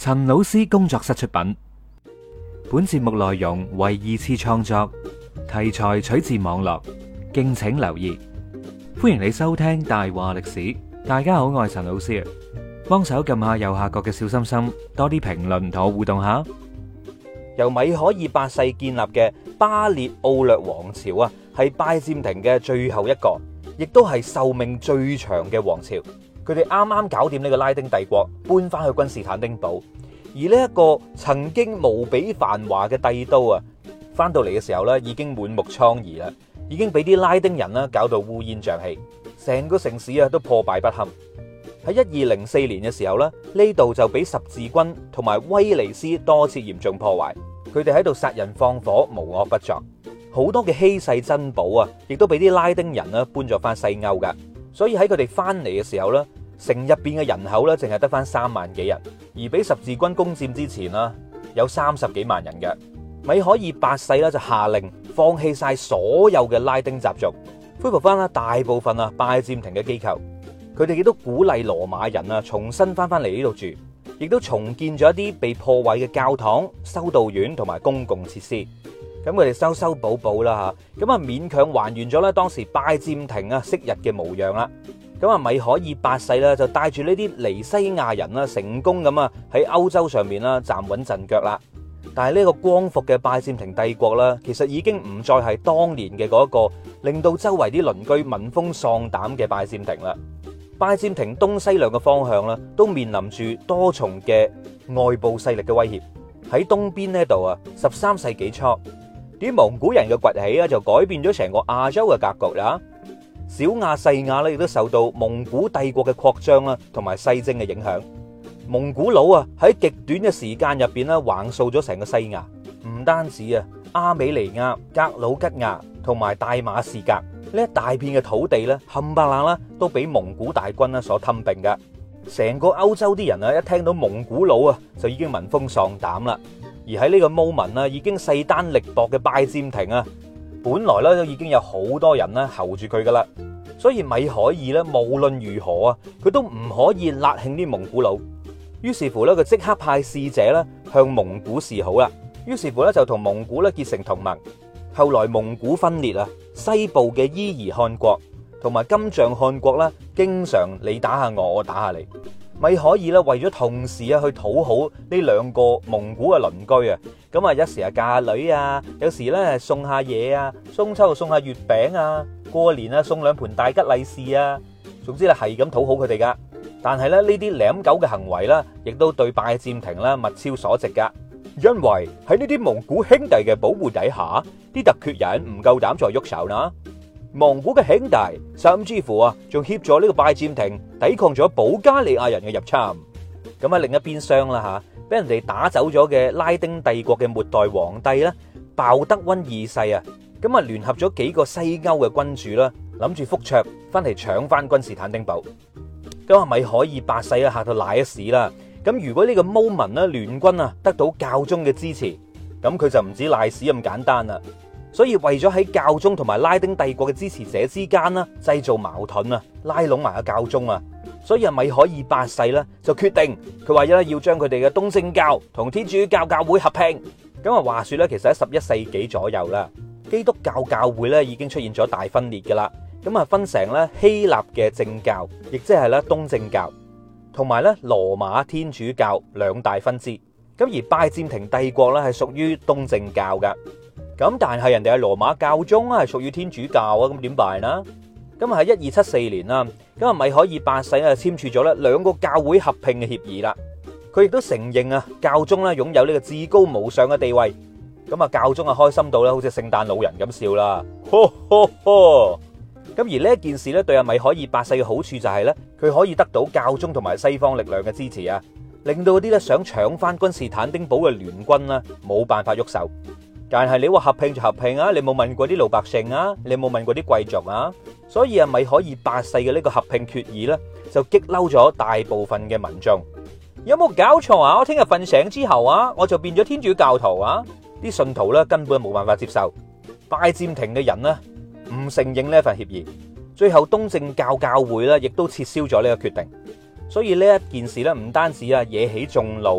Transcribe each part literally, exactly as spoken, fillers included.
陳老師工作室出品，本節目內容為二次創作，題材取自網絡，敬請留意。歡迎你收聽大話歷史。大家好，我係陳老師啊，幫手撳下右下角嘅小心心，多啲評論同我互動下。 由米可爾八世建立嘅巴列奧略王朝啊，係拜占庭嘅最後一個，亦都係壽命最長嘅王朝。佢哋啱啱搞掂呢個拉丁帝國，搬翻去君士坦丁堡。而呢一個曾經無比繁華嘅帝都啊，翻到嚟嘅時候咧，已經滿目瘡痍啦，已經俾啲拉丁人啦搞到烏煙瘴氣，成個城市啊都破敗不堪。喺一二零四年嘅時候咧，呢度就俾十字軍同埋威尼斯多次嚴重破壞，佢哋喺度殺人放火，無惡不作。好多嘅稀世珍寶啊，亦都俾啲拉丁人啦搬咗翻西歐噶。所以喺佢哋翻嚟嘅時候咧，城入邊嘅人口咧淨係得翻三萬幾人，而俾十字軍攻佔之前啦，有三十幾萬人嘅。米可爾八世咧就下令放棄晒所有嘅拉丁習俗，恢復翻啦大部分啊拜占庭嘅機構。佢哋亦都鼓勵羅馬人啊重新翻翻嚟呢度住，亦都重建咗一啲被破壞嘅教堂、修道院同埋公共設施。咁佢哋修修補補啦吓，咁啊勉強還原咗咧當時拜占庭啊昔日嘅模樣啦。咁啊米可爾八世咧就帶住呢啲尼西亞人啦，成功咁啊喺歐洲上面啦站穩陣腳啦。但係呢個光復嘅拜占庭帝國啦，其實已經唔再係當年嘅嗰一個令到周圍啲鄰居聞風喪膽嘅拜占庭啦。拜占庭東西兩個方向啦，都面臨住多重嘅外部勢力嘅威脅。喺東邊呢度啊，十三世紀初，啲蒙古人嘅崛起啊，就改變咗成個亞洲嘅格局啦。小亞細亞咧，亦都受到蒙古帝國嘅擴張啦，同埋西征嘅影響。蒙古佬啊，喺極短嘅時間入邊咧，橫掃咗成個西亞。唔單止啊，阿美尼亞、格魯吉亞同埋大馬士革呢一大片嘅土地咧，冚唪唥啦，都俾蒙古大軍啦所吞併噶。成個歐洲啲人啊，一聽到蒙古佬啊，就已經聞風喪膽啦。而喺呢個 moment 啊，已經勢單力薄嘅拜占庭啊，本來咧都已經有好多人咧候住佢噶啦。所以米可爾咧，無論如何啊，佢都唔可以辣興啲蒙古佬。於是乎咧，佢即刻派使者咧向蒙古示好啦。於是乎咧，就同蒙古咧結成同盟。後來蒙古分裂啊，西部嘅伊兒汗國同埋金帳汗國啦，經常你打下我，我打下你。米可爾咧為咗同時啊去討好呢兩個蒙古嘅鄰居啊，咁啊一時啊嫁女啊，有時咧送下嘢啊，中秋送下月餅啊，過年啊送兩盤大吉利是啊，總之咧係咁討好佢哋噶。但係咧呢啲舐狗嘅行為咧，亦都對拜占庭咧物超所值噶。因為喺呢啲蒙古兄弟嘅保護底下，啲突厥人唔夠膽再喐手啦。蒙古嘅兄弟甚至乎啊，仲協助呢個拜占庭抵抗咗保加利亞人嘅入侵。咁喺另一邊廂啦吓，俾人哋打走咗嘅拉丁帝國嘅末代皇帝咧，鮑德溫二世啊，咁啊聯合咗幾個西歐嘅君主啦，諗住覆卓翻嚟搶翻君士坦丁堡。咁啊米可爾八世啊嚇到瀨一屎啦。咁如果呢個 moment 咧聯軍啊得到教宗嘅支持，咁佢就唔止瀨屎咁簡單啦。所以為咗喺教宗同埋拉丁帝國嘅支持者之間啦，製造矛盾啊，拉攏埋個教宗啊，所以啊米可爾八世咧就決定，佢話咧要將佢哋嘅東正教同天主教教會合併。咁啊話說咧，其實喺十一世紀左右啦，基督教教會咧已經出現咗大分裂噶啦。咁啊分成咧希臘嘅正教，亦即係咧東正教，同埋咧羅馬天主教兩大分支。咁而拜占庭帝國咧係屬於東正教噶。咁但係人哋係羅馬教宗係屬於天主教啊，咁點辦呢？咁啊喺一二七四年啦，咁啊米可爾八世啊簽署咗咧兩個教會合併嘅協議啦。佢亦都承認啊教宗咧擁有呢個至高無上嘅地位。咁啊教宗啊開心到咧好似聖誕老人咁笑啦，呵呵呵。咁而呢一件事咧對阿米可爾八世嘅好處就係咧，佢可以得到教宗同埋西方力量嘅支持啊，令到嗰啲咧想搶翻君士坦丁堡嘅聯軍啦冇辦法喐手。但係你話合併就合併啊，你冇問過啲老百姓啊，你冇問過啲貴族啊，所以啊米可爾八世嘅呢個合併決議咧，就激嬲咗大部分嘅民眾。有冇搞錯啊？我聽日瞓醒之後啊，我就變咗天主教徒啊！啲信徒咧根本冇辦法接受，拜占庭嘅人呢唔承認呢一份協議，最後東正教教會咧亦都撤銷咗呢個決定。所以呢一件事咧唔單止啊惹起眾怒啊，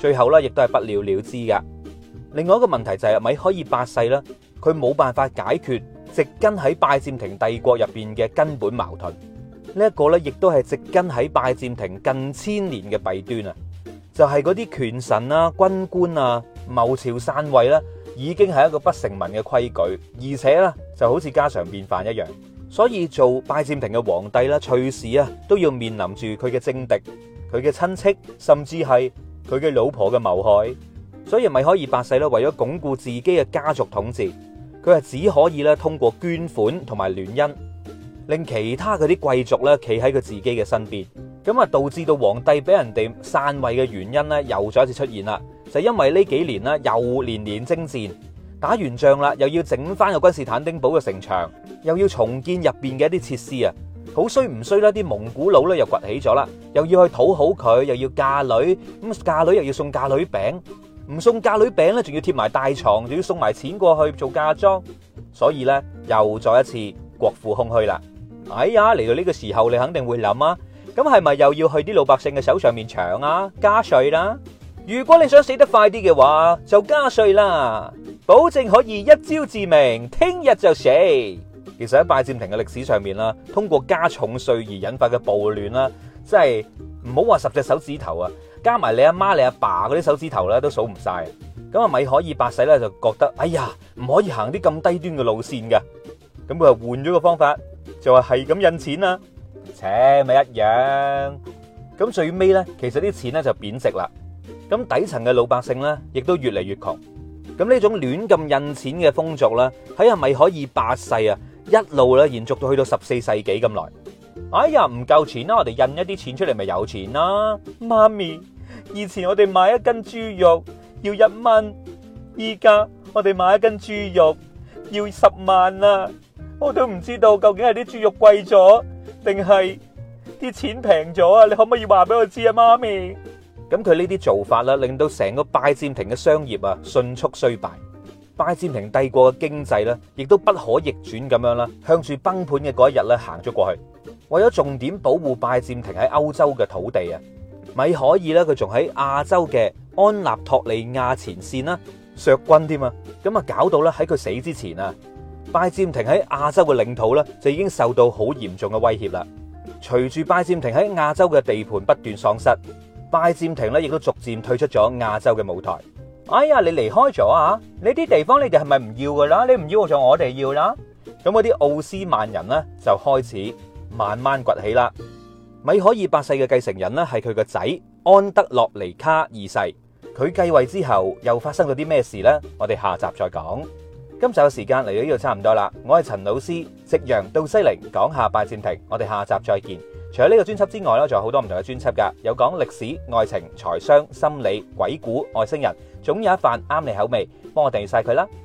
最後咧亦都係不了了之噶。另外一個問題就係米海爾八世啦，佢冇辦法解決植根喺拜占庭帝國入邊嘅根本矛盾。呢一個咧亦都係植根喺拜占庭近千年嘅弊端啊！就係嗰啲權臣啊、軍官啊、謀朝篡位啦，已經係一個不成文嘅規矩，而且咧就好似家常便飯一樣。所以做拜占庭嘅皇帝啦，隨時啊都要面臨住佢嘅政敵、佢嘅親戚，甚至係佢嘅老婆嘅謀害。所以米海爾八世咧，為咗鞏固自己嘅家族統治，佢係只可以咧通過捐款同埋聯姻，令其他嗰啲貴族咧企喺佢自己嘅身邊。咁啊，導致到皇帝俾人哋篡位嘅原因咧，又再一次出現啦。就係因為呢幾年啦，又連連征戰。打完仗啦，又要整翻個君士坦丁堡嘅城牆，又要重建入邊嘅一啲設施啊！好衰唔衰啦？啲蒙古佬咧又崛起咗啦，又要去討好佢，又要嫁女，咁嫁女又要送嫁女餅，唔送嫁女餅咧，仲要貼埋大床，仲要送埋錢過去做嫁妝，所以咧又再一次國庫空虛啦。哎呀，嚟到呢個時候，你肯定會諗啊，咁係咪又要去啲老百姓嘅手上面搶啊？加稅啦！如果你想死得快啲嘅話，就加稅啦，保證可以一朝致命，聽日就死。其實喺拜占庭嘅歷史上面啦，通過加重稅而引發嘅暴亂啦，真係唔好話十隻手指頭啊，加埋你阿媽、你阿爸嗰啲手指頭咧都數唔晒。咁啊，米海爾八世咧就覺得，哎呀，唔可以行啲咁低端嘅路線噶。咁佢就換咗個方法，就話係咁印錢啦，切咪一樣。咁最尾咧，其實啲錢咧就貶值啦。咁底層嘅老百姓咧，亦都越嚟越窮。咁呢種亂咁印錢嘅風俗咧，喺阿米海爾八世啊，一路咧延續到去到十四世紀咁耐。哎呀，唔夠錢啦，我哋印一啲錢出嚟咪有錢啦。媽咪，以前我哋買一斤豬肉要一蚊，依家我哋買一斤豬肉要十萬啦。我都唔知道究竟係啲豬肉貴咗，定係啲錢平咗啊？你可唔可以話俾我知啊，媽咪？咁佢呢啲做法啦，令到成個拜占庭嘅商業啊迅速衰敗，拜占庭帝國嘅經濟咧，亦都不可逆轉咁樣啦，向住崩盤嘅嗰一日咧行咗過去。為咗重點保護拜占庭喺歐洲嘅土地啊，米海爾咧佢仲喺亞洲嘅安納托利亞前線啦削軍添啊，咁啊搞到咧喺佢死之前啊，拜占庭喺亞洲嘅領土咧就已經受到好嚴重嘅威脅啦。隨住拜占庭喺亞洲嘅地盤不斷喪失，拜占庭咧亦都逐漸退出咗亞洲嘅舞台。哎呀，你離開咗啊？呢啲地方你哋係咪唔要噶啦？你唔要就我哋要啦。咁嗰啲奧斯曼人呢，就開始慢慢崛起啦。米海爾八世嘅繼承人呢，係佢個仔安德洛尼卡二世。佢繼位之後又發生咗啲咩事呢？我哋下集再講。今集嘅時間嚟到呢度差唔多啦。我係陳老師，夕陽到西陵講下拜占庭。我哋下集再見。除咗呢個專輯之外咧，仲有好多唔同嘅專輯噶，有講歷史、愛情、財商、心理、鬼故、外星人，總有一瓣啱你口味，幫我訂閱晒佢啦。